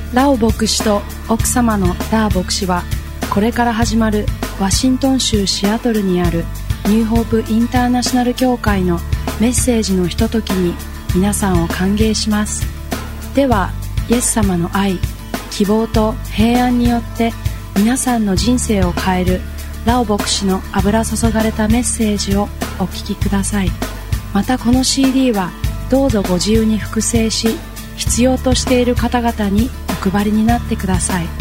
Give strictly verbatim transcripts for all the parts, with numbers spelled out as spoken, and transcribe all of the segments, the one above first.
ラオ牧師と奥様のダー牧師は、これから始まるワシントン州シアトルにあるニューホープインターナショナル教会のメッセージのひとときに皆さんを歓迎します。では、イエス様の愛、希望と平安によって皆さんの人生を変えるラオ牧師の油注がれたメッセージをお聞きください。またこの シーディー はどうぞご自由に複製し、必要としている方々にお配りになってください。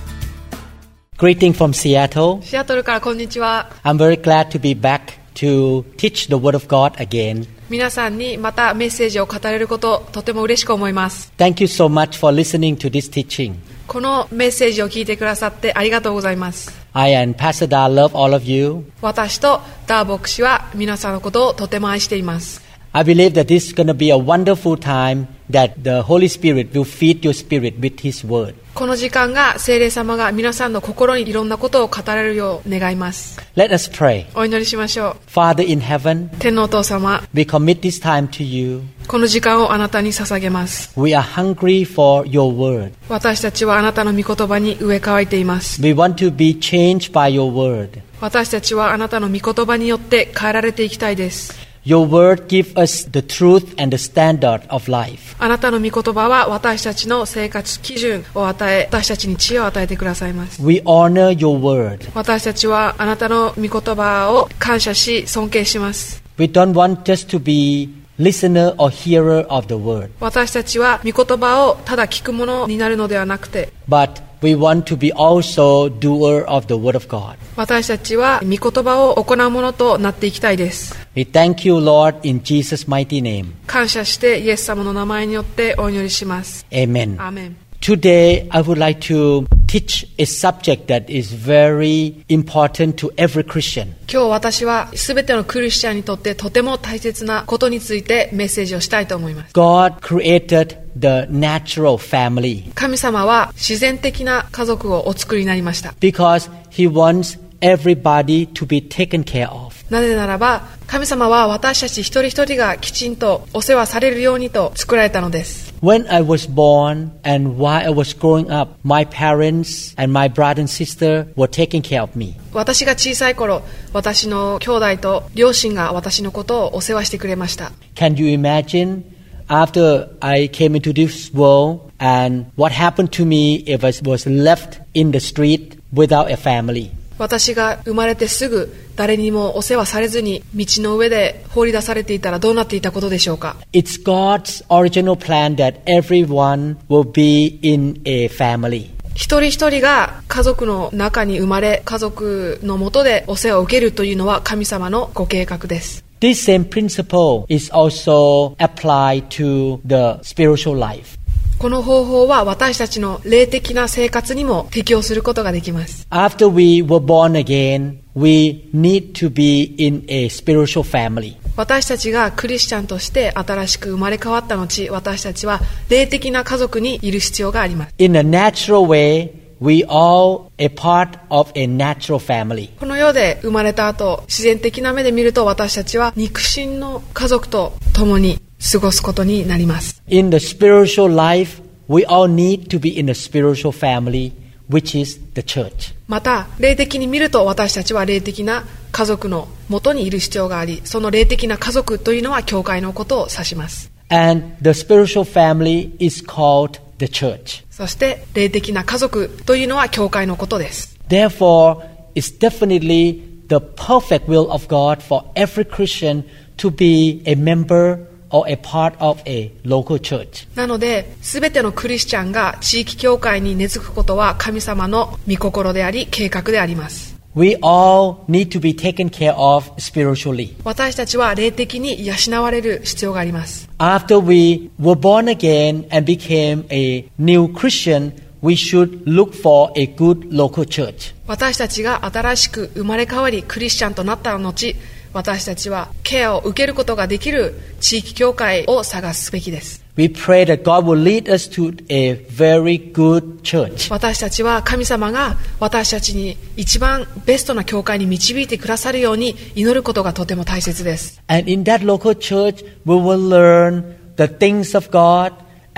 Greeting from Seattle. シアトルからこんにちは。 I'm very glad to be back to teach the Word of God again. 皆さんにまたメッセージを語れること、とても嬉しく思います。 Thank you so much for listening to this teaching. このメッセージを聞いてくださってありがとうございます。 I and Pastor Da love all of you. 私とダー牧師は皆さんのことをとても愛しています。 I believe that this is going to be a wonderful time that the Holy Spirit will feed your spirit with His Word. この時間が聖霊様が皆さんの心にいろんなことを語られるよう願います。 Let us pray. お祈りしましょう。 Father in heaven, 天のお父様、 we commit this time to you. この時間をあなたに捧げます。 We are hungry for your Word. 私たちはあなたの御言葉に植え替えています。 We want to be changed by your Word. 私たちはあなたの御言葉によって変えられていきたいです。 Your Word gives us the truth and the standard of life. あなたの御言葉は私たちの生活基準を与え、私たちに知恵を与えてくださいます。 We honor your Word. 私たちはあなたの御言葉を感謝し尊敬します。 We don't want just to be listener or hearer of the Word. 私たちは御言葉をただ聞くものになるのではなくて、 But we want to be also doer of the Word of God. 私たちは御言葉を行うものとなっていきたいです。 We thank you, Lord, in Jesus' mighty name. 感謝してイエス様の名前によってお祈りします。 Amen. アーメン。 Today, I would like to teach a subject that is very important to every Christian. 今日私はすべてのクリスチャンにとってとても大切なことについてメッセージをしたいと思います。 God created the natural family 神様は自然的な家族をお作りになりました。 because He wants everybody to be taken care of. なぜならば神様は私たち一人一人がきちんとお世話されるようにと作られたのです。 When I was born and while I was growing up, my parents and my brother and sister were taking care of me. 私が小さい頃、私の兄弟と両親が私のことをお世話してくれました。 Can you imagine after I came into this world and what happened to me if I was left in the street without a family? 私が生まれてすぐ誰にもお世話されずに道の上で放り出されていたらどうなっていたことでしょうか。 It's God's original plan that everyone will be in a family. 一人一人が家族の中に生まれ、家族の下でお世話を受けるというのは神様のご計画です。 This same principle is also applied to the spiritual life. この方法は私たちの霊的な生活にも適用することができます。 After we were born again, we need to be in a spiritual family. 私たちがクリスチャンとして新しく生まれ変わった後、私たちは霊的な家族にいる必要があります。 In a natural way, we all a part of a natural family. この世で生まれた後、自然的な目で見ると私たちは肉親の家族と共に過ごすことになります。 In the spiritual life, we all need to be in a spiritual family, which is the church. また霊的に見ると私たちは霊的な家族の元にいる必要があり、その霊的な家族というのは教会のことを指します。 And the spiritual family is called the church. そして霊的な家族というのは教会のことです。 Therefore, it's definitely the perfect will of God for every Christian to be a member or a part of a local church. なので、すべてのクリスチャンが地域教会に根付くことは神様の御心であり、計画であります。 We all need to be taken care of spiritually. 私たちは霊的に養われる必要があります。 After we were born again and became a new Christian, we should look for a good local church. 私たちが新しく生まれ変わりクリスチャンとなった後、私たちはケアを受けることができる地域教会を探すべきです。 We pray that God will lead us to a very good church. 私たちは神様が私たちに一番ベストな教会に導いてくださるように祈ることがとても大切です。 And in that local church, we will learn the things of God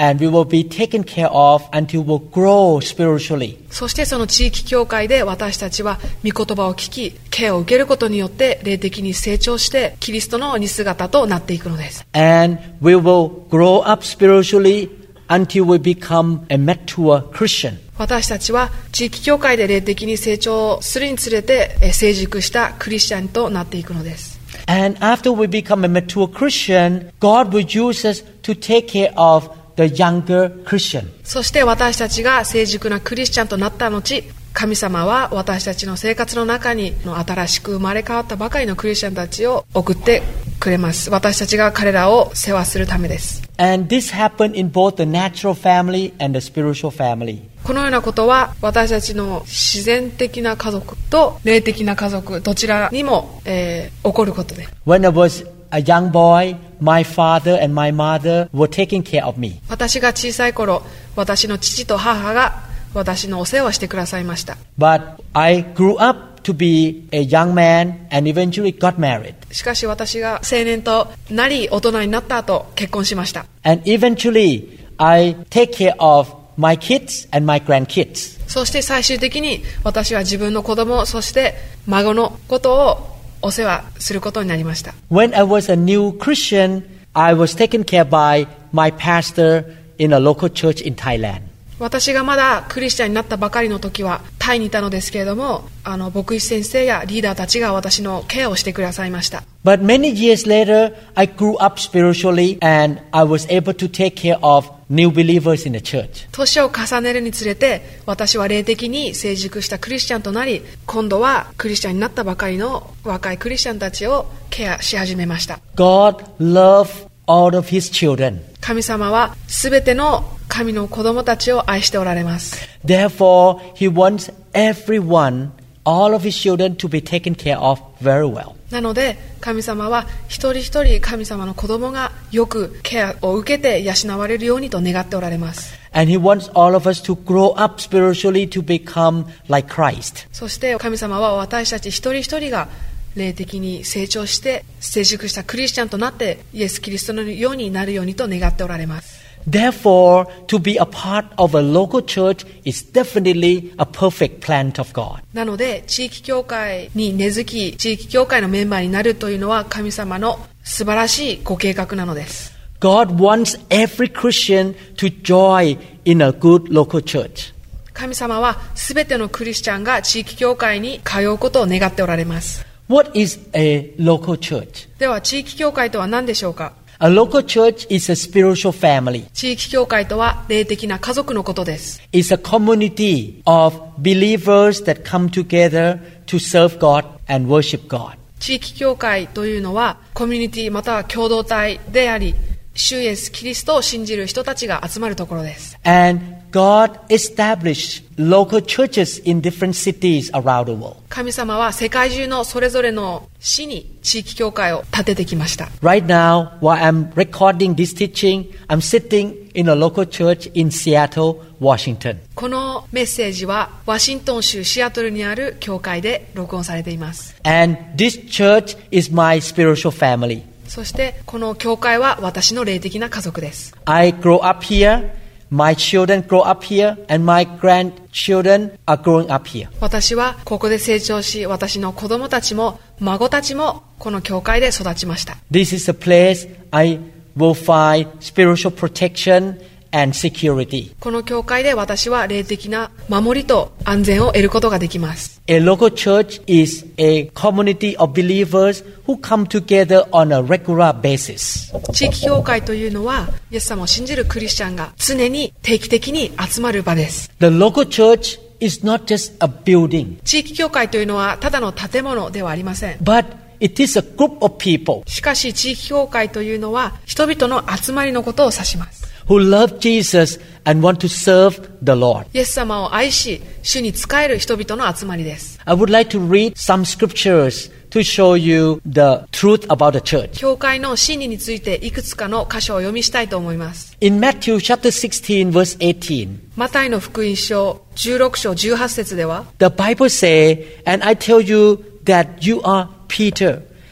and we will be taken care of until we grow spiritually. そしてその地域教会で私たちは御言葉を聞き、ケアを受けることによって霊的に成長してキリストの似姿となっていくのです。 And we will grow up spiritually until we become a mature Christian. 私たちは地域教会で霊的に成長するにつれて成熟したクリスチャンとなっていくのです。 And after we become a mature Christian, God will use us to take care of the younger Christian. そして私たちが成熟なクリスチャンとなった後、神様は私たちの生活の中に新しく生まれ変わったばかりのクリスチャンたちを送ってくれます。私たちが彼らを世話するためです。 And this happened in both the natural family and the spiritual family. このようなことは私たちの自然的な家族と霊的な家族どちらにも、えー、起こることで。 When I was a young boy, my father and my mother were taking care of me. 私が小さい頃、私の父と母が私のお世話をしてくださいました。 But I grew up to be a young man and eventually got married. しかし私が青年となり大人になった後結婚しました。 And eventually I take care of my kids and my grandkids. そして最終的に私は自分の子供、そして孫のことをお世話することになりました。 When I was a new Christian, I was taken care by my pastor in a local church in Thailand. 私がまだクリスチャンになったばかりの時はタイにいたのですけれども、あの牧師先生やリーダーたちが私のケアをしてくださいました。 But many years later, I grew up spiritually and I was able to take care of new believers in the church. 年を重ねるにつれて私は霊的に成熟したクリスチャンとなり、今度はクリスチャンになったばかりの若いクリスチャンたちをケアし始めました。 God loved all of His children. 神様はすべての神の子供たちを愛しておられます。 Therefore, He wants everyone, all of His children to be taken care of very well. なので神様は一人一人神様の子供がよくケアを受けて養われるようにと願っておられます。 And He wants all of us to grow up spiritually to become like Christ. そして神様は私たち一人一人が霊的に成長して成熟したクリスチャンとなってイエス・キリストのようになるようにと願っておられます。 Therefore, to be a part of a local church is definitely a perfect plan of God. なので地域教会に根付き地域教会のメンバーになるというのは神様の素晴らしいご計画なのです。 God wants every Christian to join in a good local church. 神様はすべてのクリスチャンが地域教会に通うことを願っておられます。 What is a local church? では地域教会とは何でしょうか。 A local church is a spiritual family. 地域教会とは霊的な家族のことです。 It's a community of believers that come together to serve God and worship God. 地域教会というのはコミュニティまたは共同体であり、主イエス・キリストを信じる人たちが集まるところです。 And God established local churches in different cities around the world. 神様は世界中のそれぞれの市に地域教会を建ててきました。 Right now, while I'm recording this teaching, I'm sitting in a local church in Seattle, Washington. このメッセージはワシントン州シアトルにある教会で録音されています。 And this church is my spiritual family. そしてこの教会は私の霊的な家族です。 I grow up here, my children grow up here, and my grandchildren are growing up here. 私はここで成長し、私の子供たちも孫たちもこの教会で育ちました。 This is a place I will find spiritual protection and security. この教会で私は霊的な守りと安全を得ることができます。 A local church is a community of believers who come together on a regular basis. 地域教会というのはイエス様を信じるクリスチャンが常に定期的に集まる場です。 The local church is not just a building, 地域教会というのはただの建物ではありません。 but it is a group of people しかし地域教会というのは人々の集まりのことを指します。 who love Jesus and want to serve the Lord. イエス様を愛し主に仕える人々の集まりです。 I would like to read some scriptures to show you the truth about the church. 教会の真理についていくつかの箇所を読みしたいと思います。 In Matthew chapter sixteen verse eighteen, マタイの福音書じゅうろく章じゅうはち節では the Bible says, and I tell you that you are Peter,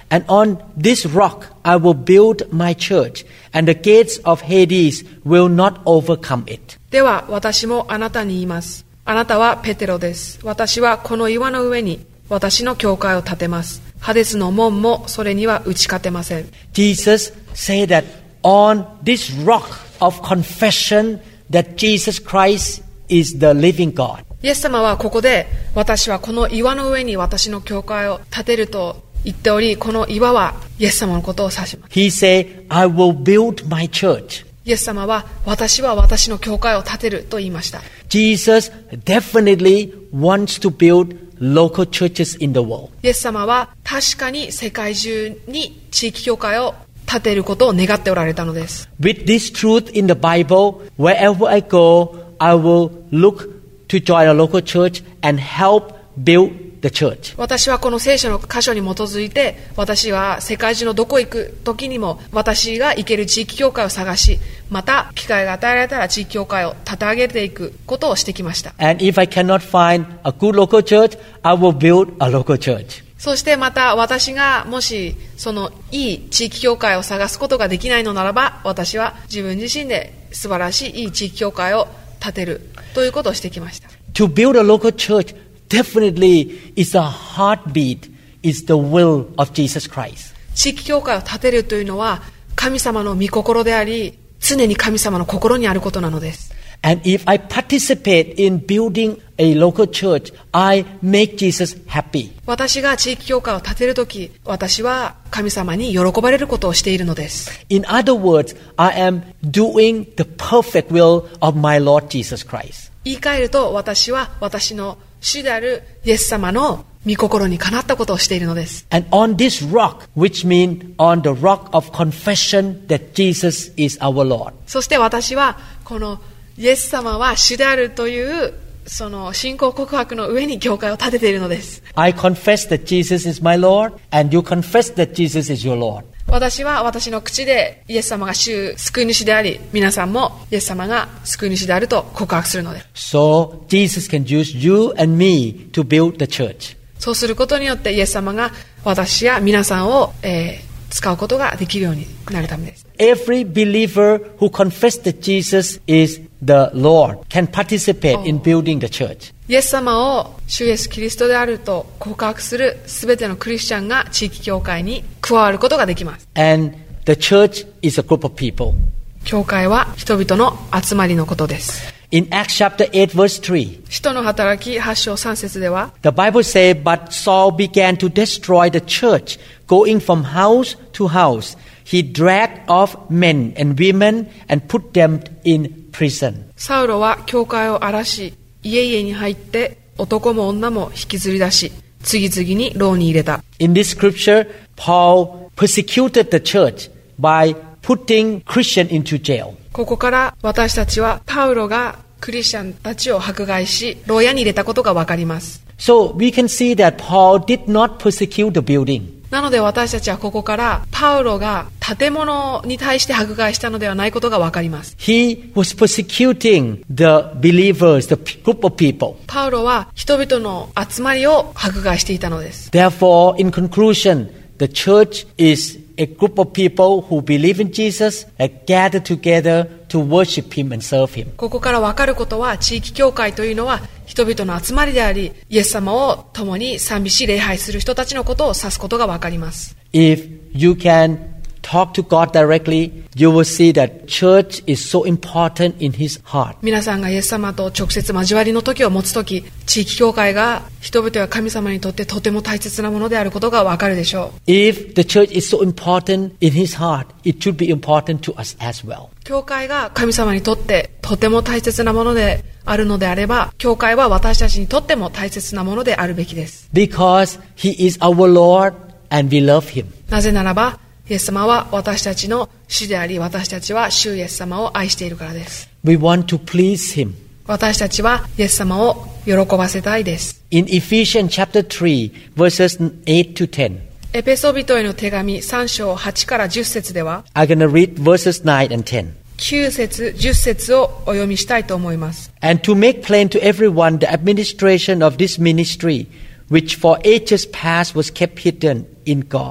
And on this rock I will build my church, and the gates of Hades will not overcome it. では私もあなたに言います。あなたはペテロです。私はこの岩の上に私の教会を建てます。ハデスの門もそれには打ち勝てません。 Jesus said that on this rock of confession that Jesus Christ is the living God. イエス様はここで、私はこの岩の上に私の教会を建てると言っており、この岩はイエス様のことを指します。 He said, I will build my church. イエス様は私は私の教会を建てると言いました。 Jesus definitely wants to build local churches in the world. イエス様は確かに世界中に地域教会を建てることを願っておられたのです。 With this truth in the Bible, wherever I go, I will look to join a local church and help build the church. 私はこの聖書の箇所に基づいて、私は世界中のどこ行く時にも私が行ける地域教会を探し、また機会が与えられたら地域教会を立て上げていくことをしてきました。 And if I cannot find a good local church, I will build a local church. そしてまた私がもしそのいい地域教会を探すことができないのならば、私は自分自身で素晴らしいいい地域教会を建てるということをしてきました。 To build a local church definitely is a heartbeat, is the will of Jesus Christ. 地域教会を建てるというのは神様の御心であり、常に神様の心にあることなのです。 And if I participate in building a local church, I make Jesus happy. 私が地域教会を建てるとき、私は神様に喜ばれることをしているのです。 In other words, I am doing the perfect will of my Lord Jesus Christ. 言い換えると、私は私の主であるイエス様の御心にかなったことをしているのです。 And on this rock, which means on the rock of confession that Jesus is our Lord. そして私はこのイエス様は主であるというその信仰告白の上に教会を建てているのです。 I confess that Jesus is my Lord, and you confess that Jesus is your Lord. 私は私の口でイエス様が主救い主であり、皆さんもイエス様が救い主であると告白するのです。 So Jesus can use you and me to build the church. そうすることによってイエス様が私や皆さんを、えー使うことができるようになるためです。 Every believer who confesses that Jesus is the Lord can participate in building the church. イエス様を主イエスキリストであると告白するすべてのクリスチャンが地域教会に加わることができます。 And the church is a group of people. 教会は人々の集まりのことです。 In Acts chapter eight verse three, 使徒の働きはち章さん節では、 the Bible says, But Saul began to destroy the church, going from house to house. He dragged off men and women and put them in prison. サウロは教会を荒らし、家々に入って男も女も引きずり出し、次々に牢に入れた。 In this scripture, Paul persecuted the church by putting Christians into jail. ここから私たちはパウロがクリスチャンたちを迫害し、牢屋に入れたことがわかります。 So we can see that Paul did not persecute the building. なので私たちはここからパウロが建物に対して迫害したのではないことがわかります。 He was persecuting the believers, the group of people. パウロは人々の集まりを迫害していたのです。 Therefore, in conclusion, the church is a group of people who believe in Jesus and gather together to worship Him and serve Him. ここからわかることは、地域教会というのは人々の集まりであり、イエス様を共に賛美し礼拝する人たちのことを指すことがわかります。 If you can talk to God directly, you will see that church is so important in His heart. 皆さんがイエス様と直接交わりの時を持つとき、地域教会が人々や神様にとってとても大切なものであることがわかるでしょう。 If the church is so important in His heart, it should be important to us as well. 教会が神様にとってとても大切なものであるのであれば、教会は私たちにとっても大切なものであるべきです。 Because He is our Lord and we love Him. なぜならば、イエス様は私たちの主であり、私たちは主イエス様を愛しているからです。 We want to please Him. 私たちはイエス様を喜ばせたいです。 In Ephesians chapter three, verses eight to ten, エペソビトへの手紙さん章はちからじゅっ節では、 I'm going to read verses nine and ten. きゅう節、じゅっ節をお読みしたいと思います。 And to make plain to everyone the administration of this ministry, which for ages past was kept hidden in God,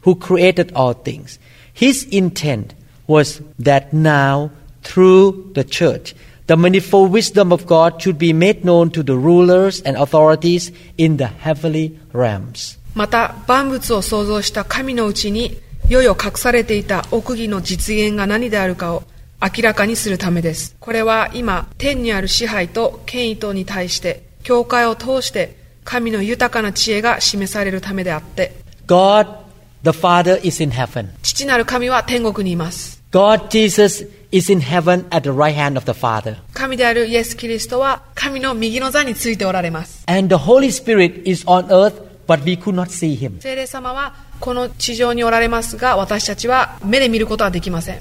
who created all things. His intent was that now, through the church, the manifold wisdom of God should be made known to the rulers and authorities in the heavenly realms. また万物を創造した神のうちに世々隠されていた奥義の実現が何であるかを明らかにするためです。これは今天にある支配と権威等に対して教会を通して神の豊かな知恵が示されるためであって、 God the Father is in heaven. 父なる神は天国にいます。 God Jesus is in heaven at the right hand of the Father. 神であるイエス・キリストは神の右の座についておられます。 And the Holy Spirit is on earth, but we could not see him. 聖霊様はこの地上におられますが、私たちは目で見ることはできません。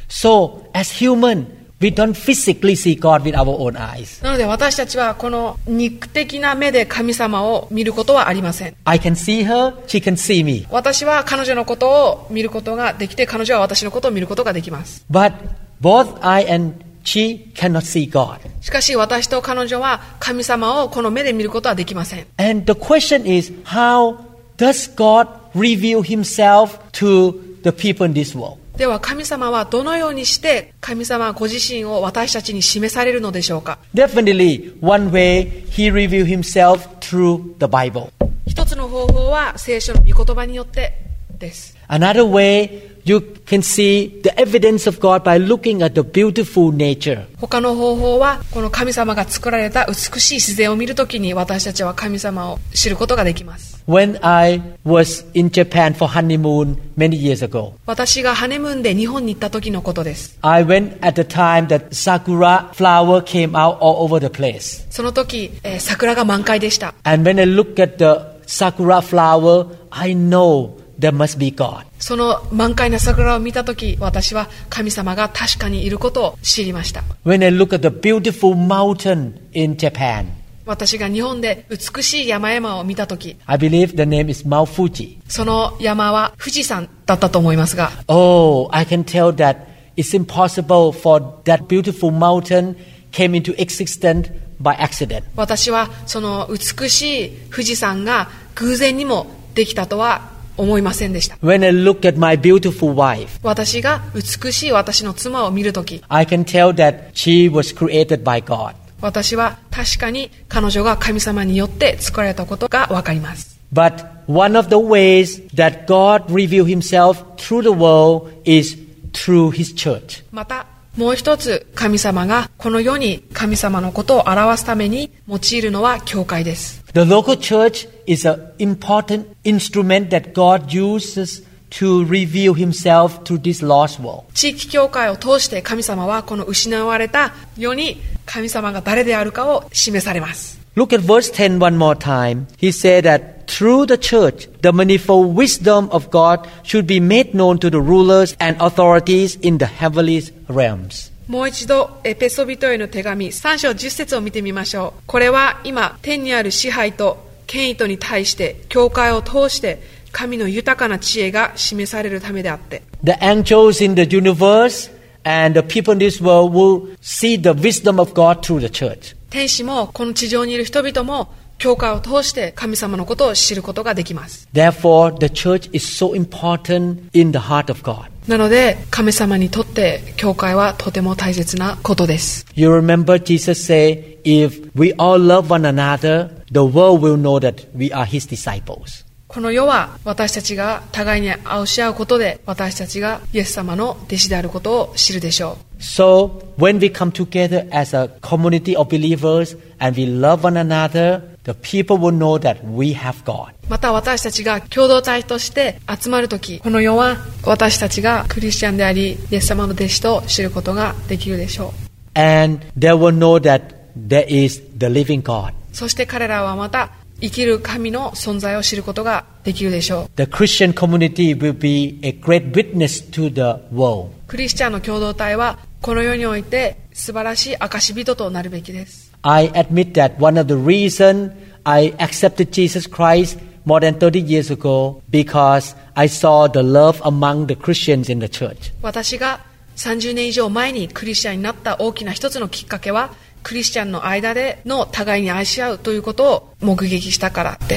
So, as human, we don't physically see God with our own eyes. なので私たちはこの肉的な目で神様を見ることはありません。 I can see her, she can see me. 私は彼女のことを見ることができて、彼女は私のことを見ることができます。 But both I and she cannot see God. しかし私と彼女は神様をこの目で見ることはできません。 And the question is, how does God reveal himself to the people in this world? では神様はどのようにして神様ご自身を私たちに示されるのでしょうか。 Definitely, one way he revealed himself through the Bible. 一つの方法は聖書の御言葉によってです。 Another way, you can see the evidence of God by looking at the beautiful nature. 他の方法はこの神様が作られた美しい自然を見るときに私たちは神様を知ることができます。 When I was in Japan for honeymoon many years ago, 私がハネムーンで日本に行った時のことです。 I went at the time that sakura flower came out all over the place. その時、えー、桜が満開でした。 And when I look at the sakura flower, I know there must be God. その満開な桜を見た時、私は神様が確かにいることを知りました。 When I look at the beautiful mountain in Japan, 私が日本で美しい山々を見た時、 I believe the name is Mount Fuji. その山は富士山だったと思いますが、 Oh, I can tell that it's impossible for that beautiful mountain came into existence by accident. 私はその美しい富士山が偶然にもできたとは思いませんでした。 When I look at my beautiful wife, 私が美しい私の妻を見るとき、 I can tell that she was created by God. 私は確かに彼女が神様によって作られたことがわかります。 But one of the ways that God revealed himself through the world is through his church. またもう一つ神様がこの世に神様のことを表すために用いるのは教会です。 The local church is an important instrument that God uses to reveal himself to this lost world. 地域教会を通して神様はこの失われた世に神様が誰であるかを示されます。 Look at verse ten one more time. He said that through the church, the manifold wisdom of God should be made known to the rulers and authorities in the heavenly realms. もう一度エペソビトへの手紙さん章じゅっ節を見てみましょう。これは今天にある支配と権威とに対して教会を通して神の豊かな知恵が示されるためであって、 The angels in the universe and the people in this world will see the wisdom of God through the church. 天使もこの地上にいる人々も教会を通して神様のことを知ることができます。 Therefore, the church is so important in the heart of God. なので神様にとって教会はとても大切なことです。 You remember Jesus say, if we all love one another, the world will know that we are his disciples. この世は私たちが互いに愛し合うことで私たちがイエス様の弟子であることを知るでしょう。 So, when we come together as a community of believers and we love one another, the people will know that we have God. また私たちが共同体として集まるとき、この世は私たちがクリスチャンでありイエス様の弟子と知ることができるでしょう。 And they will know that there is the living God. そして彼らはまた生きる神の存在を知ることができるでしょう。 The Christian community will be a great witness to the world. クリスチャンの共同体はこの世において素晴らしい証人となるべきです。 I admit that one of the reasons I accepted Jesus Christ more than thirty years ago because I saw the love among the Christians in the church. 私がさんじゅうねん以上前にクリスチャンになった大きな一つのきっかけはクリスチャンの間での互いに愛し合うということを目撃したからです。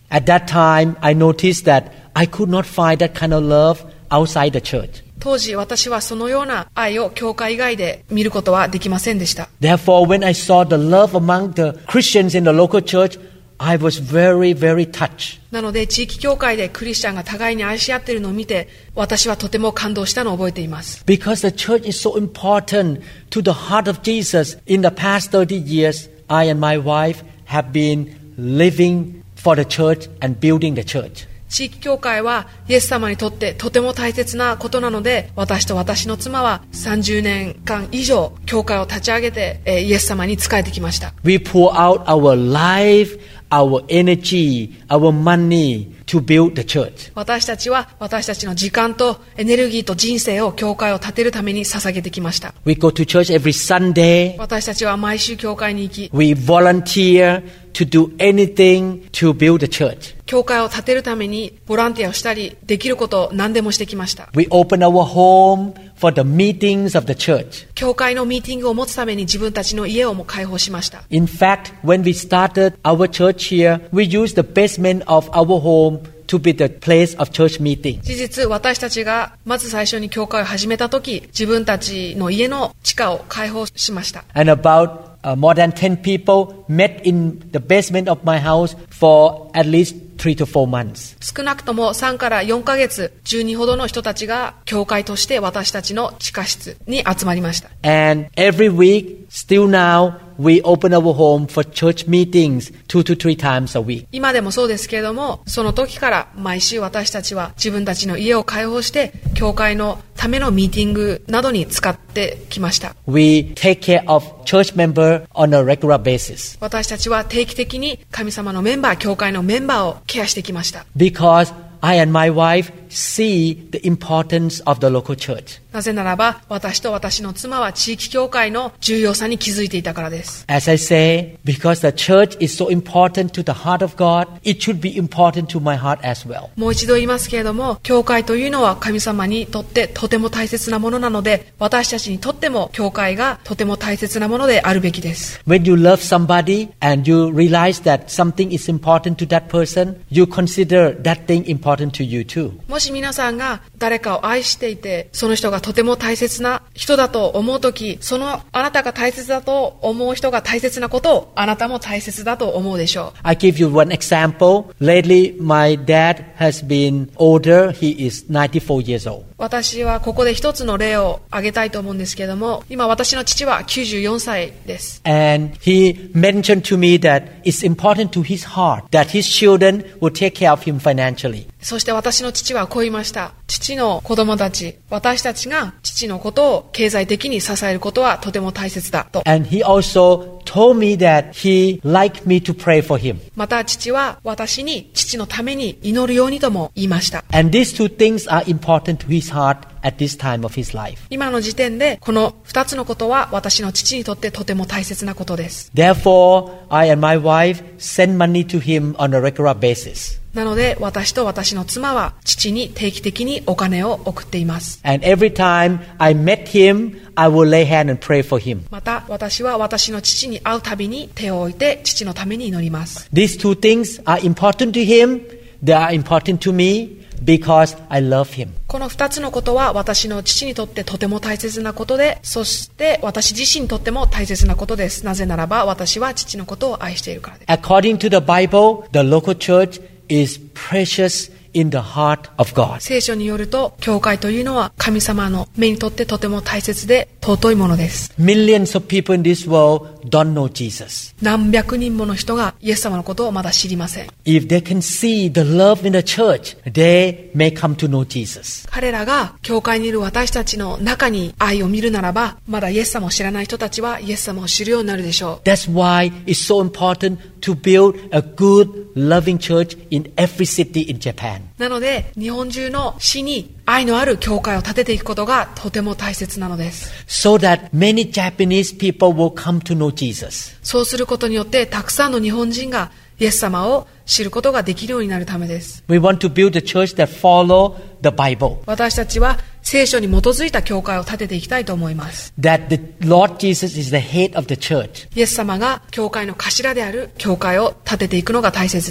At that time, I noticed that I could not find that kind of love outside the church. 当時私はそのような愛を教会以外で見ることはできませんでした。 Therefore, when I saw the love among the Christians in the local church, I was very, very touched. なので地域教会でクリスチャンが互いに愛し合っているのを見て、私はとても感動したのを覚えています。 Because the church is so important to the heart of Jesus. In the past thirty years, I and my wife have been living for the church and building the church. 地域教会はイエス様にとってとても大切なことなので、私と私の妻はさんじゅうねんかん以上教会を立ち上げて、えー、イエス様に仕えてきました。 We pour out our life, our energy, our money to build the church. 私たちは私たちの時間とエネルギーと人生を教会を建てるために捧げてきました。 We go to church every Sunday. 私たちは毎週教会に行き、 We volunteer to do anything to build the church. 教会を建てるためにボランティアをしたり、できることを何でもしてきました。 We open our home for the meetings of the church. 教会のミーティングを持つために自分たちの家をも開放しました。 In fact, when we started our church here, we used the basement of our home to be the place of church meeting. 事実、私たちがまず最初に教会を始めたとき、自分たちの家の地下を開放しました。 And about uh, more than ten people met in the basement of my house for at least three to four months. 少なくともさんからよんかげつ、じゅうにほどの人たちが教会として私たちの地下室に集まりました。 And every week, still now, we open our home for church meetings two to three times a week. 今でもそうですけれども、その時から毎週私たちは自分たちの家を開放して教会のためのミーティングなどに使ってきました。 We take care of church members on a regular basis. 私たちは定期的に神様のメンバー、教会のメンバーをケアしてきました。 Because I and my wife see the importance of the local church. なぜならば、私と私の妻は地域教会の重要さに気づいていたからです。 As I say, because the church is so important to the heart of God, it should be important to my heart as well. もう一度言いますけれども、教会というのは神様にとってとても大切なものなので、私たちにとっても教会がとても大切なものであるべきです。 When you love somebody and you realize that something is important to that person, you consider that thing important to you too. もし皆さんが誰かを愛していて、その人がとても大切な人だと思うとき、そのあなたが大切だと思う人が大切なことをあなたも大切だと思うでしょう。 I give you one example. Lately, my dad has been older. He is ninety-four years old. 私はここで一つの例を挙げたいと思うんですけれども、今私の父はきゅうじゅうよんさいです。 And he mentioned to me that it's important to his heart that his children will take care of him financially. そして私の父はこう言いました。父の子供たち、私たちが父のことを経済的に支えることはとても大切だと。 And he also told me that he liked me to pray for him. また父は私に父のために祈るようにとも言いました。 And these two things are important to his heart at this time of his life. 今の時点でこの二つのことは私の父にとってとても大切なことです。 Therefore, I and my wife send money to him on a regular basis. なので私と私の妻は父に定期的にお金を送っています。 And every time I met him, I will lay hand and pray for him. また私は私の父に会うたびに手を置いて父のために祈ります。 These two things are important to him. They are important to me.Because I love him. この二つのことは私の父にとってとても大切なことで、そして私自身にとっても大切なことです。なぜならば私は父のことを愛しているからです。 According to the Bible, the local church is precious in the heart of God. 聖書によると、教会というのは神様の目にとってとても大切で尊いものです。 Millions of people in this world don't know Jesus. 何百人もの人がイエス様のことをまだ知りません。 If they can see the love in the church, they may come to know Jesus. 彼らが教会にいる私たちの中に愛を見るならば、まだイエス様を知らない人たちはイエス様を知るようになるでしょう。 That's why it's so important to build a good, loving church in every city in Japan. なので、日本中の市に愛のある教会を建てていくことがとても大切なのです。 So that many Japanese people will come to know Jesus. そうすることによってたくさんの日本人がイエス様を知ることができるようになるためです。 We want to build a church that follow the Bible. 私たちは聖書に基づいた教会を建てていきたいと思います。 That the Lord Jesus is the head of the church. イエス様が教会の頭である教会を建てていくのが大切です。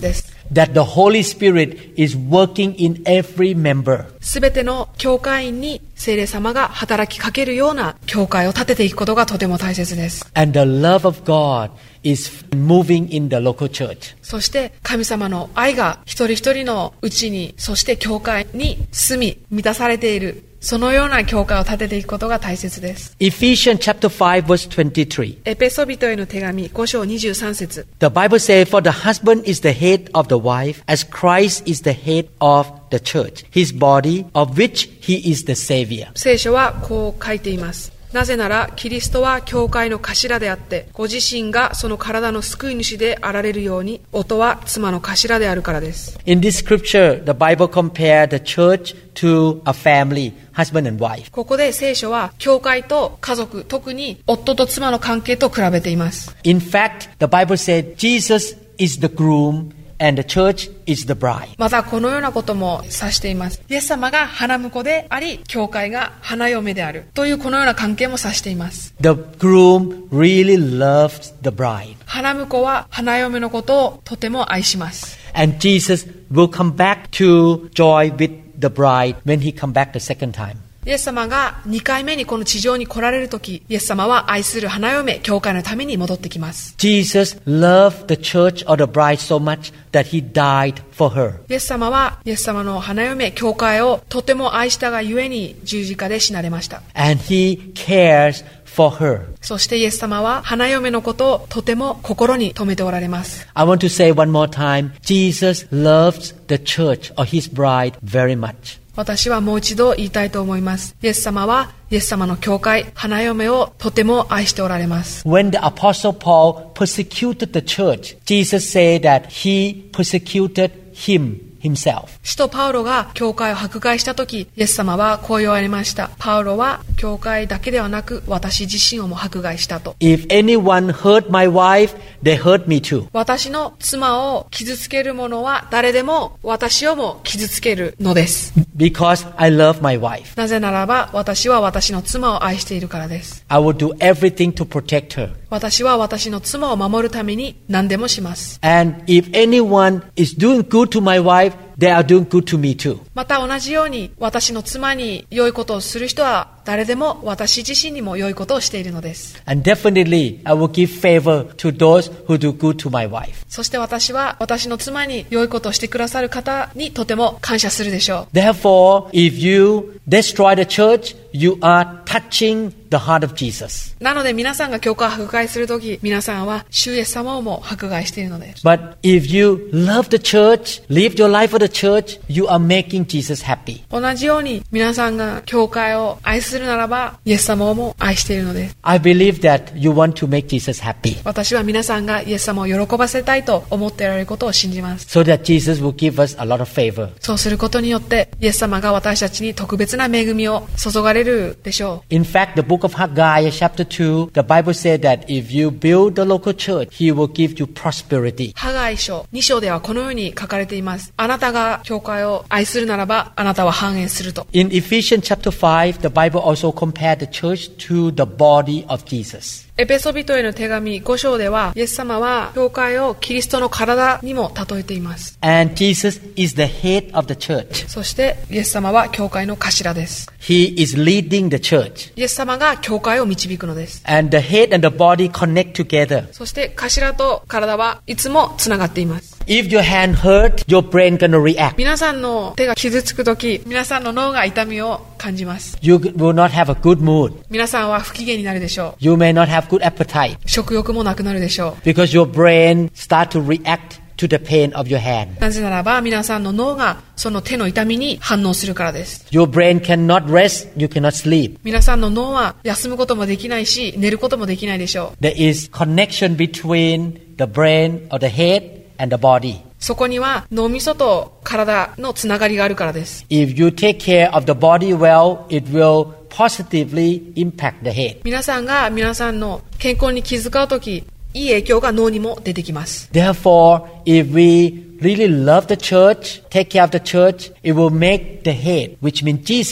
that the Holy Spirit is working in every member. すべての教会員に聖霊様が働きかけるような教会を立てていくことがとても大切です。 And the love of God is moving in the local church. そして神様の愛が一人一人のうちに、そして教会に住み満たされている、そのような教会を立てていくことが大切です。 Ephesians chapter five verse twenty-three. エペソ人への手紙ご章にじゅうさん節。 The Bible says, For the husband is the head of the wife, as Christ is the head of the church, his body, of which he is the Savior. 聖書はこう書いています。なぜならキリストは教会の頭であって、ご自身がその体の救い主であられるように、夫は妻の頭であるからです。 In this scripture, the Bible compared the church to a family, husband and wife. ここで聖書は教会と家族、特に夫と妻の関係と比べています。 In fact, the Bible said Jesus is the groom and the church is the bride. またこのようなことも指しています。イエス様が花婿であり、教会が花嫁であるというこのような関係も指しています。 The groom really loves the bride. 花婿は花嫁のことをとても愛します。 And Jesus will come back to joy with the bride when he come back the second time. イエス様がにかいめにこの地上に来られるとき、イエス様は愛する花嫁、教会のために戻ってきます。 Jesus loved the church or the bride so much that he died for her. イエス様はイエス様の花嫁、教会をとても愛したがゆえに十字架で死なれました。 And he cares for her. そしてイエス様は花嫁のことをとても心に留めておられます。 I want to say one more time, Jesus loves the church or his bride very much. 私はもう一度言いたいと思います。イエス様はイエス様の教会、花嫁をとても愛しておられます。 When the Apostle Paul persecuted the church, Jesus said that he persecuted him himself. 使徒パウロが教会を迫害したとき、イエス様はこう言われました。パウロは教会だけではなく私自身をも迫害したと。 If anyone hurt my wife, they hurt me too. 私の妻を傷つける者は誰でも私をも傷つけるのです。 Because I love my wife. なぜならば私は私の妻を愛しているからです。 I will do everything to protect her. 私は私の妻を守るために何でもします。 And if anyone is doing good to my wife, they are doing good to me too. また同じように私の妻に良いことをする人は誰でも私自身にも良いことをしているのです。 And definitely I will give favor to those who do good to my wife. そして私は私の妻に良いことをしてくださる方にとても感謝するでしょう。 Therefore, if you destroy the church, you are touching the heart of Jesus. なので皆さんが教会を迫害するとき、皆さんは主イエス様をも迫害しているのです。 But if you love the church, live your life for the church, you are making Jesus happy. 同じように皆さんが教会を愛するならば、イエス様をも愛しているのです。 I believe that you want to make Jesus happy. 私は皆さんがイエス様を喜ばせたいと思っておられることを信じます。 So that Jesus will give us a lot of favor. そうすることによって、イエス様が私たちに特別な恵みを注がれるでしょう。 In fact, the book of Haggai, chapter two, the Bible said that if you build the local church, He will give you prosperity. ハガイ書に章ではこのように書かれています。あなたが教会を愛するならば、あなたは繁栄すると。 In Ephesians chapter five, the Bible also compared the church to the body of Jesus. エペソビトへの手紙ご章では、イエス様は教会をキリストの体にも例えています。 And Jesus is the head of the church. そしてイエス様は教会の頭です。 He is leading the church. イエス様が教会を導くのです。 And the head and the body connect together. そして頭と体はいつもつながっています。 If your hand hurt, your brain gonna react. 皆さんの手が傷つくとき、皆さんの脳が痛みを感じます。 You will not have a good mood. 皆さんは不機嫌になるでしょう。 You may not have good appetite. 食欲もなくなるでしょう。 Because your brain start to react to the pain of your hand. なぜならば皆さんの脳がその手の痛みに反応するからです。 Your brain cannot rest, you cannot sleep. 皆さんの脳は休むこともできないし、寝ることもできないでしょう。 There is connection between the brain or the head and the body. そこには脳みそと体のつながりがあるからです。 If you take care of the body well, it will positively impact the head. 皆さんが皆さんの健康に気遣うとき、いい影響が脳にも出てきます。 Therefore, if we really love the church, take care of the church, it will make the head, which means Jesus,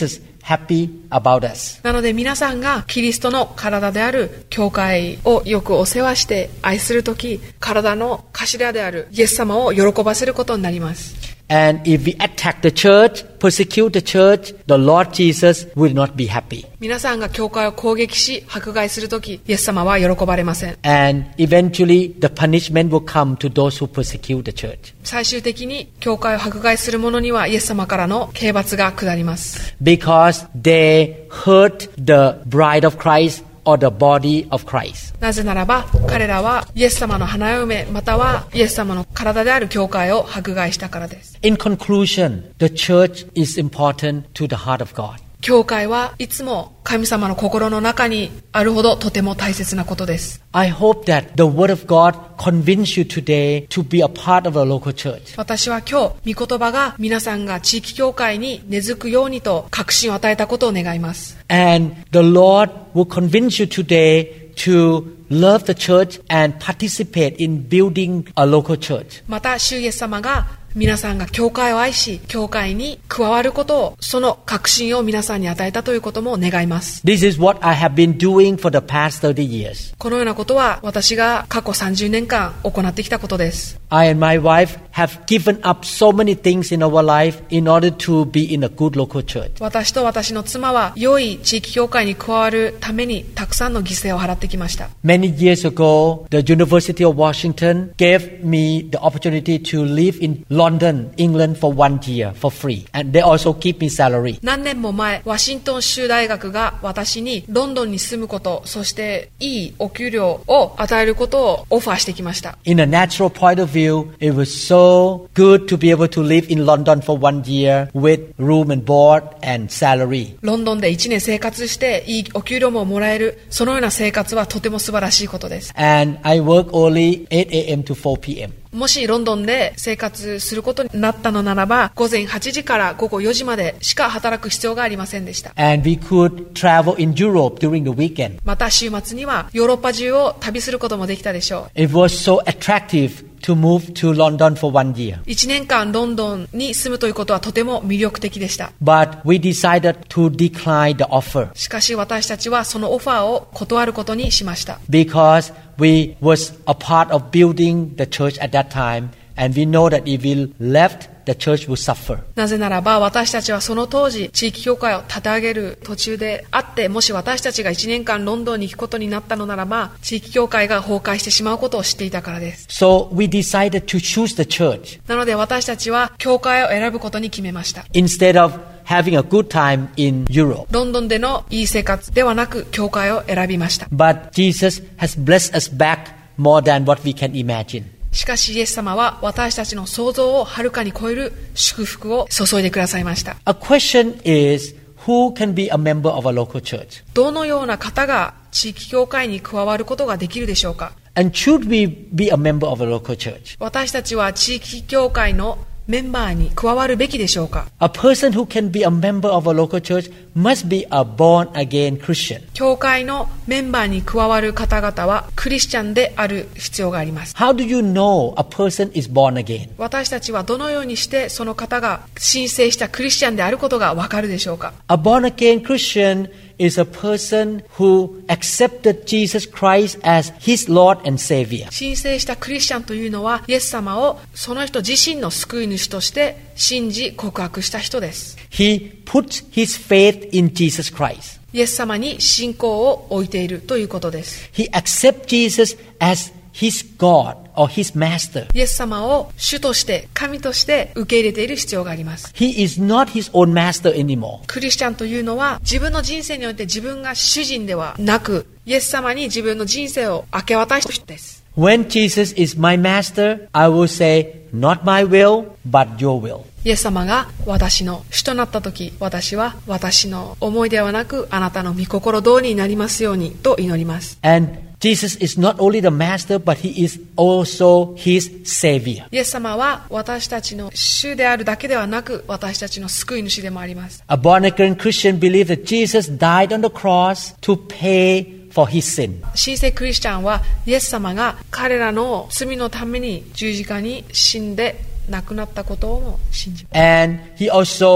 happy about us. なので皆さんがキリストの体である教会をよくお世話して愛するとき、体の頭であるイエス様を喜ばせることになります。 And if we attack the church, persecute the church, the Lord Jesus will not be happy. 皆さんが教会を攻撃し迫害するとき、イエス様は喜ばれません。 And eventually the punishment will come to those who persecute the church. 最終的に教会を迫害する者にはイエス様からの刑罰が下ります。 Because they hurt the bride of Christ or the body of Christ. なぜならば彼らはイエス様の花嫁またはイエス様の体である教会を迫害したからです。 In conclusion, the church is important to the heart of God. 教会はいつも神様の心の中にあるほどとても大切なことです。 I hope that the word of God convince you today to be a part of a local church. 私は今日、御言葉が皆さんが地域教会に根付くようにと確信を与えたことを願います。 And the Lord will convince you today to love the church and participate in building a local church. また、主イエス様が皆さんが教会を愛し、教会に加わることを、その確信を皆さんに与えたということも願います。 This is what I have been doing for the past thirty years. このようなことは私が過去さんじゅうねんかん行ってきたことです。 I and my wife have given up so many things in our life in order to be in a good local church. 私と私の妻は良い地域教会に加わるためにたくさんの犠牲を払ってきました。 Many years ago, the University of Washington gave me the opportunity to live in London, England for one year for free. And they also keep me salary. 何年も前、ワシントン州大学が私にロンドンに住むこと、そしていいお給料を与えることをオファーしてきました。 In a natural point of view, it was so good to be able to live in London for one year with room and board and salary. ロンドンでいちねん生活していいお給料ももらえる、そのような生活はとても素晴らしいことです。 And I work only eight a.m. to four p.m. もしロンドンで生活することになったのならば、午前はちじから午後よじまでしか働く必要がありませんでした。 And we could travel in Europe during the weekend. また週末にはヨーロッパ中を旅することもできたでしょう。 It was so attractive to move to London for one year. いちねんかんロンドンに住むということはとても魅力的でした。 But we decided to decline the offer. しかし私たちはそのオファーを断ることにしました。 Because we was a part of building the church at that time, and we know that if we left, the church will suffer. なぜならば私たちはその当時地域教会を立て上げる途中であって、もし私たちがいちねんかんロンドンに行くことになったのならば地域教会が崩壊してしまうことを知っていたからです。 So we decided to choose the church なので私たちは教会を選ぶことに決めました。 instead of having a good time in Europe. ロンドンでのいい生活ではなく教会を選びました。 But Jesus has blessed us back more than what we can imagine. しかしイエス様は私たちの想像をはるかに超える祝福を注いでくださいました。 A question is, who can be a member of a local church? どのような方が地域教会に加わることができるでしょうか。 And should we be a member of a local church? 私たちは地域教会のメンバーに加わるべきでしょうか。 A person who can be a member of a local church must be a born-again Christian. 教会のメンバーに加わる方々はクリスチャンである必要があります。 How do you know a person is born again? 私たちはどのようにしてその方が申請したクリスチャンであることがわかるでしょうか。 A born-again Christian is a person who accepted Jesus Christ as his Lord and Savior. 申請したクリスチャンというのはイエス様をその人自身の救い主として信じ告白した人です。 He puts his faith in Jesus Christ. イエス様に信仰を置いているということです。 He accepts Jesus as his God or his master. イエス様を主として神として受け入れている必要があります。 He is not his own master anymore. クリスチャンというのは自分の人生において自分が主人ではなく、イエス様に自分の人生を明け渡した人です。 When Jesus is my master, I will say, not my will, but your will. イエス様が私の主となった時、私は私の思いではなくあなたの御心通りになりますようにと祈ります。 And Jesus is not only the master, but he is also his savior. イエス様は私たちの主であるだけではなく私たちの救い主でもあります。 A born-again Christian believes that Jesus died on the cross to pay for his sin. 新生クリスチャンはイエス様が彼らの罪のために十字架に死んで亡くなったことを信じます。 And he also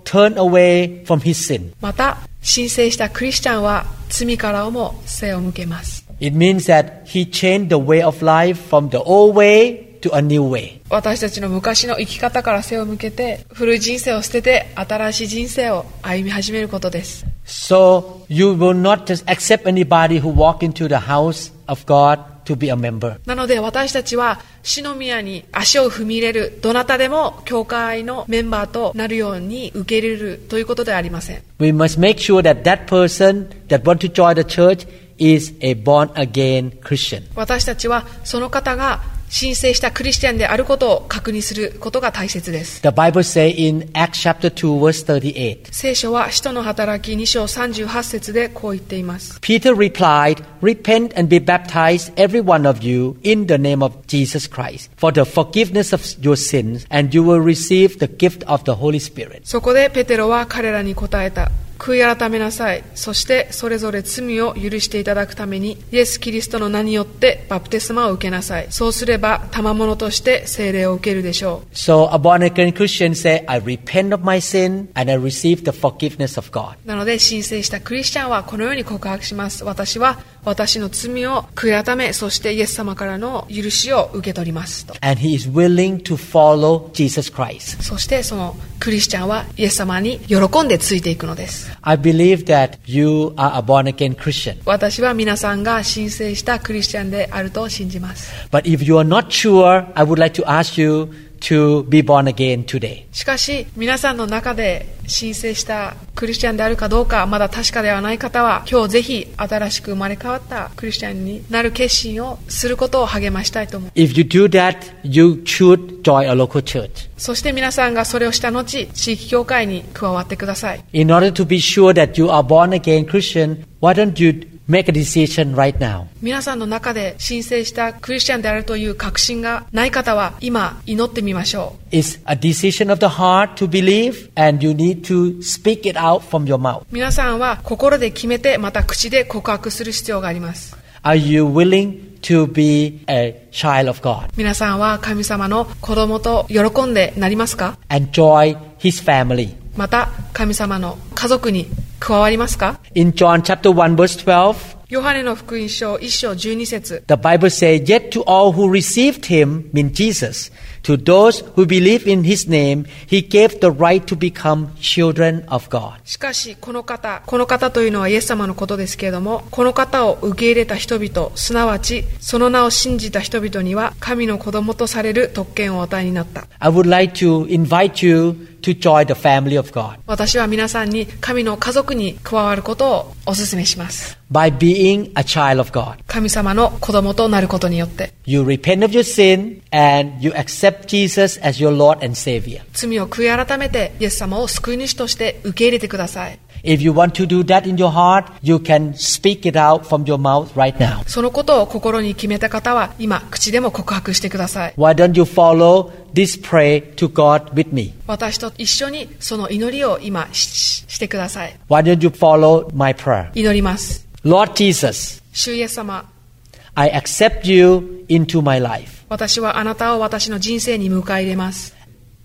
turn away from his sin. また申請したクリスチャンは罪からも背を向けます。 It means that he changed the way of life from the old way to a new way. 私たちの昔の生き方から背を向けて、古い人生を捨てて新しい人生を歩み始めることです。 So you will not just accept anybody who walk into the house of God to be a member. なので私たちは主の宮に足を踏み入れるどなたでも教会のメンバーとなるように受け入れるということではありません。 We must make sure that that person that want to join the church is a born again Christian. 私たちはその方が申請したクリスチャンであることを確認することが大切です。 The Bible says in Acts chapter two verse thirty-eight. 聖書は使徒の働きに章さんじゅうはち節でこう言っています。 Peter replied, Repent and be baptized, every one of you, in the name of Jesus Christ, for the forgiveness of your sins, and you will receive the gift of the Holy Spirit. そこでペテロは彼らに答えた。悔い改めなさい。そしてそれぞれ罪を許していただくためにイエス・キリストの名によってバプテスマを受けなさい。そうすれば賜物として聖霊を受けるでしょう。 So a born again Christian say, I repent of my sin and I receive the forgiveness of God. なので申請したクリスチャンはこのように告白します。私は私の罪を悔い改め、そしてイエス様からの許しを受け取りますと。 And he is willing to follow Jesus Christ. そしてそのクリスチャンはイエス様に喜んでついていくのです。 I believe that you are a born again Christian. 私は皆さんが申請したクリスチャンであると信じます。 But if you are not sure, I would like to ask you to be born again today. しかし皆さんの中で申請したクリスチャンであるかどうかまだ確かではない方は、今日ぜひ新しく生まれ変わったクリスチャンになる決心をすることを励ましたいと思う。 If you do that, you should join a local church. そして皆さんがそれをした後、地域教会に加わってください。 In order to be sure that you are born again Christian, why don't you make a decision right now? 皆さんの中で申請したクリスチャンであるという確信がない方は今祈ってみましょう。 It's a decision of the heart to believe, and you need to speak it out from your mouth. 皆さんは心で決めて、また口で告白する必要があります。 Are you willing to be a child of God? 皆さんは神様の子供と喜んでなりますか？ And join His family. また神様の家族に加わりますか？ In John chapter one verse twelve, ヨハネの福音書いち章じゅうに節 the Bible says, Yet to all who received Him, mean Jesus, to those who believe in His name, He gave the right to become children of God. しかしこの方、この方というのはイエス様のことですけれども、この方を受け入れた人々、すなわちその名を信じた人々には神の子供とされる特権をお与えになった。 I would like to invite you to join the family of God. 私は皆さんに神の家族に加わることをお勧めします。 By being a child of God, 神様の子供となることによって、 you repent of your sin and you accept Jesus as your Lord and Savior. 罪を悔い改めてイエス様を救い主として受け入れてください。 If you want to do that in your heart, you can speak it out from your mouth right now. そのことを心に決めた方は今口でも告白してください。 Why don't you follow this prayer to God with me? 私と一緒にその祈りを今 し, してください。 Why don't you follow my prayer? 祈ります。 Lord Jesus, 主イエス様、 I accept you into my life 私はあなたを私の人生に迎え入れます。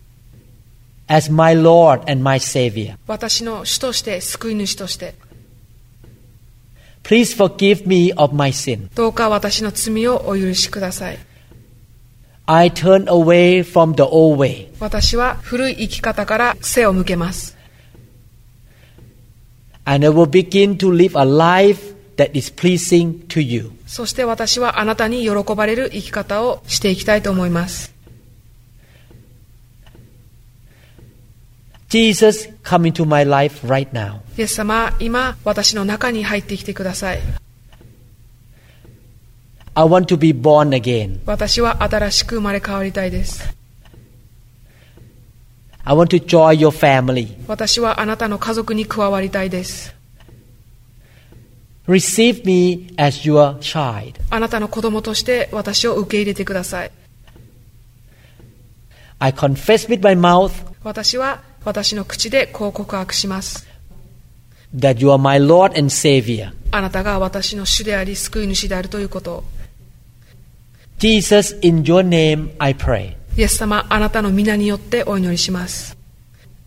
as my Lord and my Savior. 私の主として救い主として、 Please forgive me of my sin. どうか私の罪をお許しください。 I turn away from the old way. 私は古い生き方から背を向けます。 And I will begin to live a life that is pleasing to you. そして私はあなたに喜ばれる生き方をしていきたいと思います。 Jesus, come into my life right now. イエス様、今私の中に入ってきてください。 I want to be born again. 私は新しく生まれ変わりたいです。 I want to join your family. 私はあなたの家族に加わりたいです。 Receive me as your child. あなたの子供として私を受け入れてください。 I confess with my mouth 私は私の口でこう告白します。 that you are my Lord and Savior. あなたが私の主であり救い主であるということを。 Jesus, in your name I pray. イエス様、あなたの皆によってお祈りします。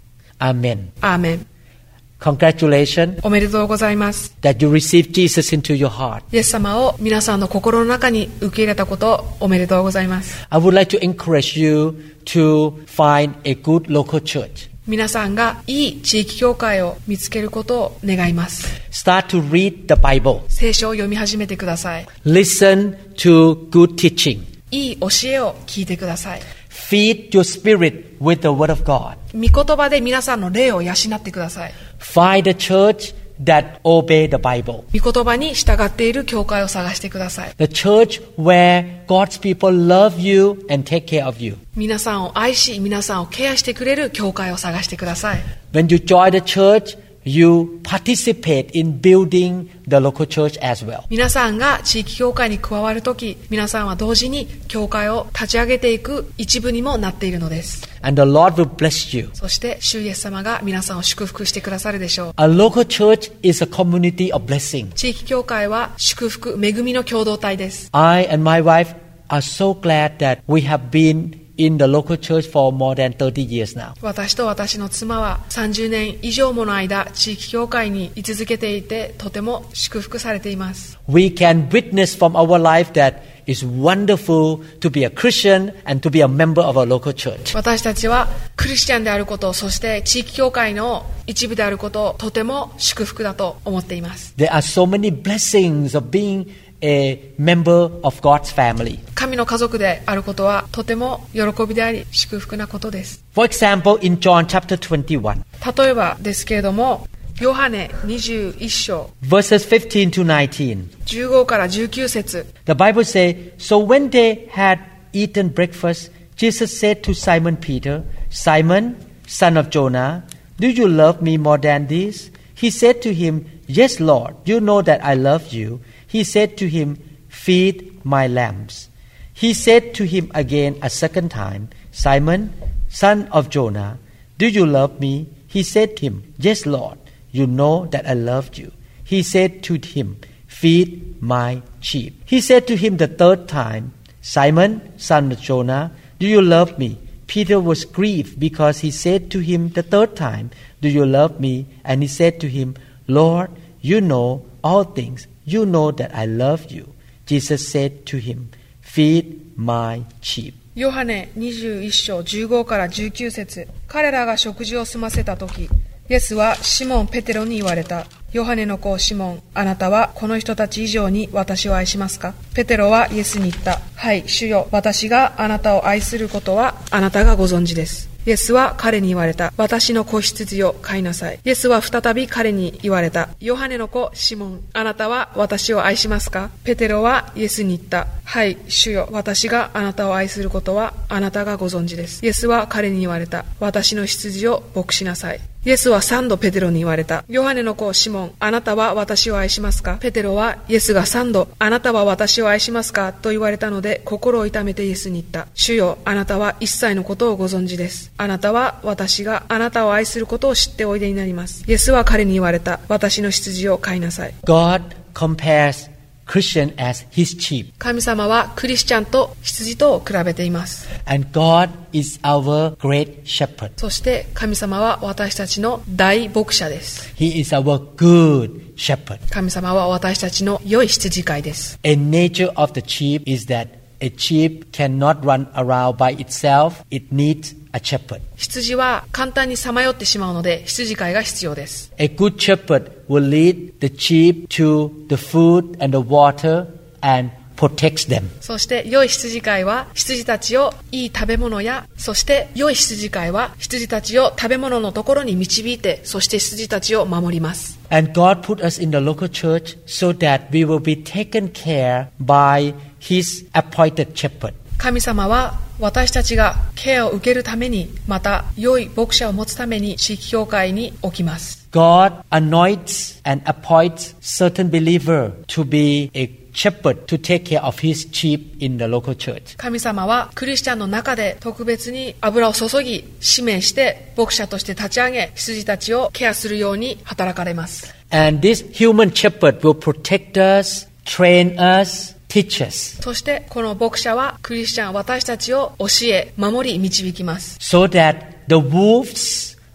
Amen. アーメン。 Congratulations おめでとうございます。 that you received Jesus into your heart. イエス様を皆さんの心の中に受け入れたことをおめでとうございます。 I would like to encourage you to find a good local church. 皆さんがいい地域教会を見つけることを願います。 Start to read the Bible. 聖書を読み始めてください。 Listen to good teaching. いい教えを聞いてください。 Feed your spirit with the Word of God. 御言葉で皆さんの霊を養ってください。 Find a church that obey the Bible. 御言葉に従っている教会を探してください。 The church where God's people love you and take care of you. 皆さんを愛し、皆さんをケアしてくれる教会を探してください。 When you join the church, you participate in building the local church as well. 皆さんが地域教会に加わるとき、皆さんは同時に教会を立ち上げていく一部にもなっているのです。 And the Lord will bless you. そして主イエス様が皆さんを祝福してくださるでしょう。 A local church is a community of blessing. 地域教会は祝福、恵みの共同体です。 I and my wife are so glad that we have been in the local church for more than thirty years now. 私と私の妻はさんじゅうねん以上もの間、地域教会に居続けていて、とても祝福されています。 We can witness from our life that it's wonderful to be a Christian and to be a member of a local church. 私たちはクリスチャンであること、そして地域教会の一部であることをとても祝福だと思っています。 There are so many blessings of being a member of God's family. 神の家族であることはとても喜びであり祝福なことです。 For example, in John chapter twenty-one, 例えばですけれども、ヨハネにじゅういっ章 verses fifteen to nineteen, じゅうごからじゅうきゅう節 the Bible says, So when they had eaten breakfast, Jesus said to Simon Peter, Simon, son of Jonah, do you love me more than this? He said to him, Yes, Lord, you know that I love you. He said to him, Feed my lambs. He said to him again a second time, Simon, son of Jonah, do you love me? He said to him, Yes, Lord, you know that I love you. He said to him, Feed my sheep. He said to him the third time, Simon, son of Jonah, do you love me? Peter was grieved because he said to him the third time, Do you love me? And he said to him, Lord, you know all things. You know that I love you. Jesus said to him, Feed my sheep. ヨハネにじゅういっ章じゅうごからじゅうきゅう節彼らが食事を済ませたとき、イエスはシモン・ペテロに言われた。ヨハネの子シモン、あなたはこの人たち以上に私を愛しますか？ペテロはイエスに言った。はい、主よ、私があなたを愛することはあなたがご存知です。イエスは彼に言われた。私の子羊を飼いなさい。イエスは再び彼に言われた。ヨハネの子シモン、あなたは私を愛しますか？ペテロはイエスに言った。はい、主よ、私があなたを愛することはあなたがご存知です。イエスは彼に言われた。私の羊を牧しなさい。イエスは三度ペテロに言われた。ヨハネの子シモン、あなたは私を愛しますか？ペテロはイエスが三度、あなたは私を愛しますか？と言われたので、心を痛めてイエスに言った。主よ、あなたは一切のことをご存知です。あなたは私があなたを愛することを知っておいでになります。イエスは彼に言われた。私の羊を飼いなさい。 God compares Christian as his sheep. 神様はクリスチャンと羊とを比べています。 And God is our great shepherd. そして神様は私たちの大牧者です。 He is our good shepherd. 神様は私たちの良い羊飼いです。 A nature of the sheep is that a sheep cannot run around by itself. It needs a shepherd. 羊は簡単にさまよってしまうので羊飼いが必要です。 A good shepherd will lead the sheep to the food and the water and protects them. そして良い羊飼いは羊たちをいい食べ物や、そして良い羊飼いは羊たちを食べ物のところに導いて、そして羊たちを守ります。 And God put us in the local church so that we will be taken care by His appointed shepherd. 神様は私たちがケアを受けるために、また良い牧者を持つために地域教会に置きます。 God anoints and appoints certain believer to be a shepherd to take care of his sheep in the local church. 神様はクリスチャンの中で特別に油を注ぎ、指名して牧者として立ち上げ、羊たちをケアするように働かれます。 And this human shepherd will protect us, train us, teach us. そしてこの牧者はクリスチャン私たちを教え、守り、導きます。 So that the wolves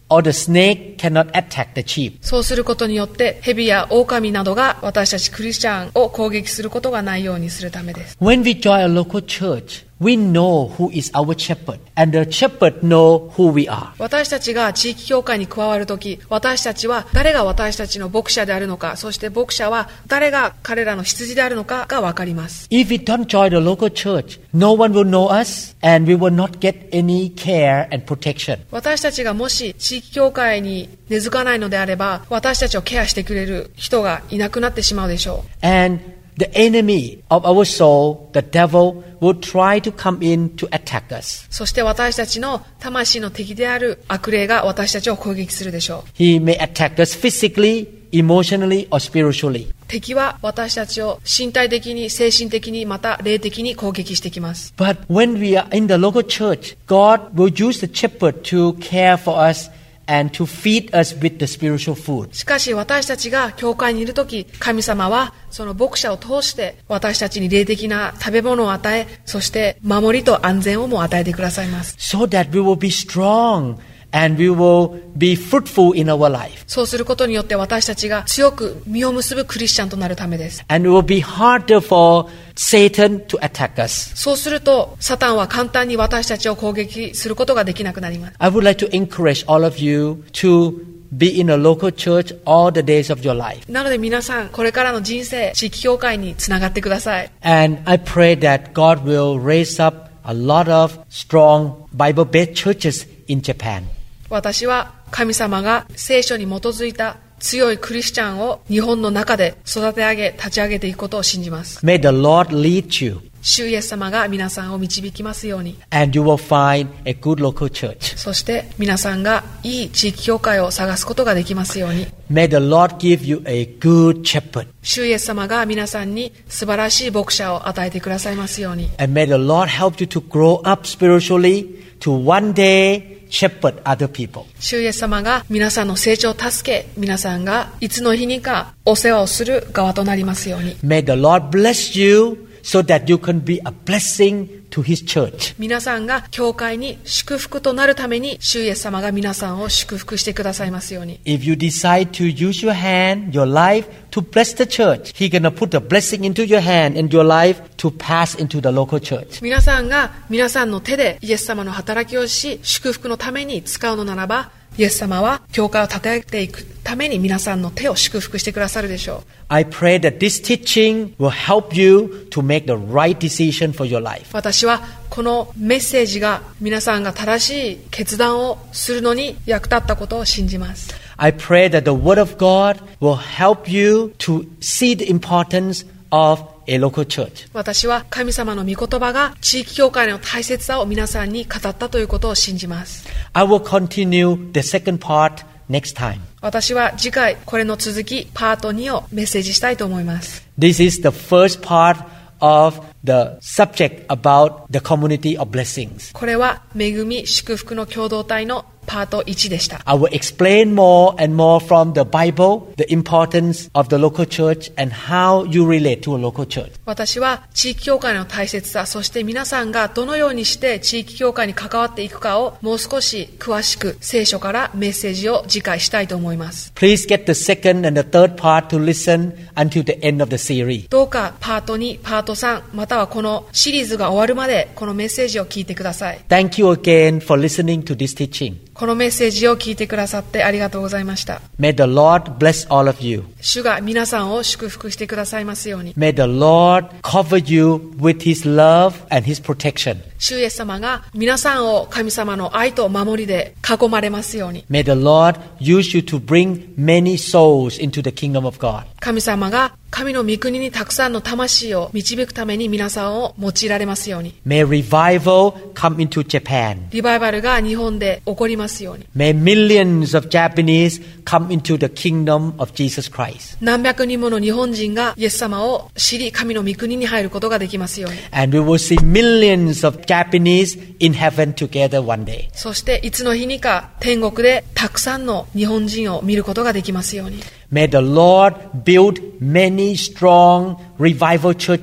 or the snake cannot attack the sheep. そうすることによって蛇や狼などが私たちクリスチャンを攻撃することがないようにするためです。 When we join a local church, we know who is our shepherd, and the shepherd know who we are. 私たちが地域教会に加わるとき、私たちは誰が私たちの牧者であるのか、そして牧者は誰が彼らの羊であるのかがわかります。 If we don't join the local church, no one will know us, and we will not get any care and protection. 私たちがもし地域教会に根付かないのであれば、私たちをケアしてくれる人がいなくなってしまうでしょう。 And the enemy of our soul, the devil, will try to come in to attack us. そして私たちの魂の敵である悪霊が私たちを攻撃するでしょう。 He may attack us physically, emotionally, or spiritually. 敵は私たちを身体的に、精神的に、また霊的に攻撃してきます。 But when we are in the local church, God will use the shepherd to care for us and to feed us with the spiritual food. しかし私たちが教会にいるとき、神様はその牧者を通して私たちに霊的な食べ物を与え、そして守りと安全をも与えてくださいます。 So that we will be strong and we will be fruitful in our life. そうすることによって私たちが強く実を結ぶクリスチャンとなるためです。 And it will be harder for Satan to attack us. そうするとサタンは簡単に私たちを攻撃することができなくなります。 I would like to encourage all of you to be in a local church all the days of your life. なので皆さん、これからの人生、地域教会につながってください。 And I pray that God will raise up a lot of strong Bible-based churches in Japan. 私は神様が聖書に基づいた強いクリスチャンを日本の中で育て上げ、立ち上げていくことを信じます。 May the Lord lead you. 主イエス様が皆さんを導きますように。 And you will find a good local church. そして皆さんがいい地域教会を探すことができますように。 May the Lord give you a good shepherd. 主イエス様が皆さんに素晴らしい牧者を与えてくださいますように。 And may the Lord help you to grow up spiritually to one day shepherd other people. 主イエス様が皆さんの成長を助け、皆さんがいつの日にかお世話をする側となりますように。 May the Lord bless you so that you can be a blessing to His church. 皆さんが教会に祝福となるために主イエス様が皆さんを祝福してくださいますように。 If you decide to use your hand, your life to bless the church, He's gonna put a blessing into your hand and your life to pass into the local church. 皆さんが皆さんの手でイエス様の働きをし、祝福のために使うのならば、イエス様は教会を立てていくために皆さんの手を祝福してくださるでしょう。 I pray that this teaching will help you to make the right decision for your life. 私はこのメッセージが皆さんが正しい決断をするのに役立ったことを信じます。 I pray that the Word of God will help you to see the importance of a local church. 私は神様の御言葉が地域教会の大切さを皆さんに語ったということを信じます。 I will continue the second part next time. 私は次回これの続きパートにをメッセージしたいと思います。 This is the first part of the subject about the community of blessings. これは恵み祝福の共同体のパートいちでした。 I will explain more and more from the Bible the importance of the local church and how you relate to a local church. 私は地域教会の大切さ、そして皆さんがどのようにして地域教会に関わっていくかをもう少し詳しく聖書からメッセージを次回したいと思います。 Please get the second and the third part to listen until the end of the series. どうかパートに、パートさん、またはこのシリーズが終わるまでこのメッセージを聞いてください。 Thank you again for listening to this teaching. このメッセージを聞いてくださってありがとうございました。 May the Lord bless all of you. 主が皆さんを祝福してくださいますように。 May the Lord cover you with His love and His protection. 主イエス様が皆さんを神様の愛と守りで囲まれますように。 May the Lord use you to bring many souls into the kingdom of God. 神様が神の御国にたくさんの魂を導くために皆さんを用いられますように。 May revival come into Japan. リバイバルが日本で起こりますように。 May millions of Japanese come into the kingdom of Jesus Christ. 何百人もの日本人がイエス様を知り神の御国に入ることができますように。 And we will see millions of Japanese in heaven together one day. そしていつの日にか天国でたくさんの日本人を見ることができますように。 May the Lord build many strong revival churches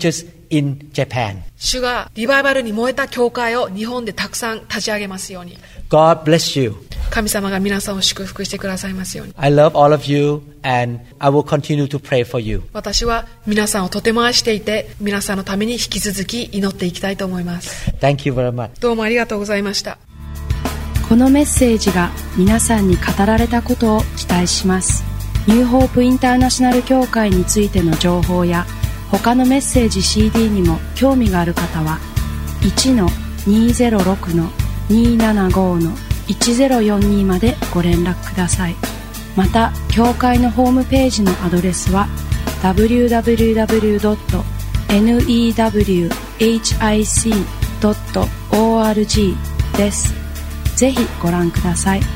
in Japan. 主がリバイバルに燃えた教会を日本でたくさん立ち上げますように。 God bless you. 神様が皆さんを祝福してくださいますように。 I love all of you and I will continue to pray for you. 私は皆さんをとても愛していて、皆さんのために引き続き祈っていきたいと思います。 Thank you very much. どうもありがとうございました。 このメッセージが皆さんに語られたことを期待します。ニューホープインターナショナル協会についての情報や他のメッセージ シーディー にも興味がある方は いちのにーぜろろくのにーななごのいちぜろよんにまでご連絡ください。また協会のホームページのアドレスは ダブリューダブリューダブリュードットニューハイクドットオーアールジー です。ぜひご覧ください。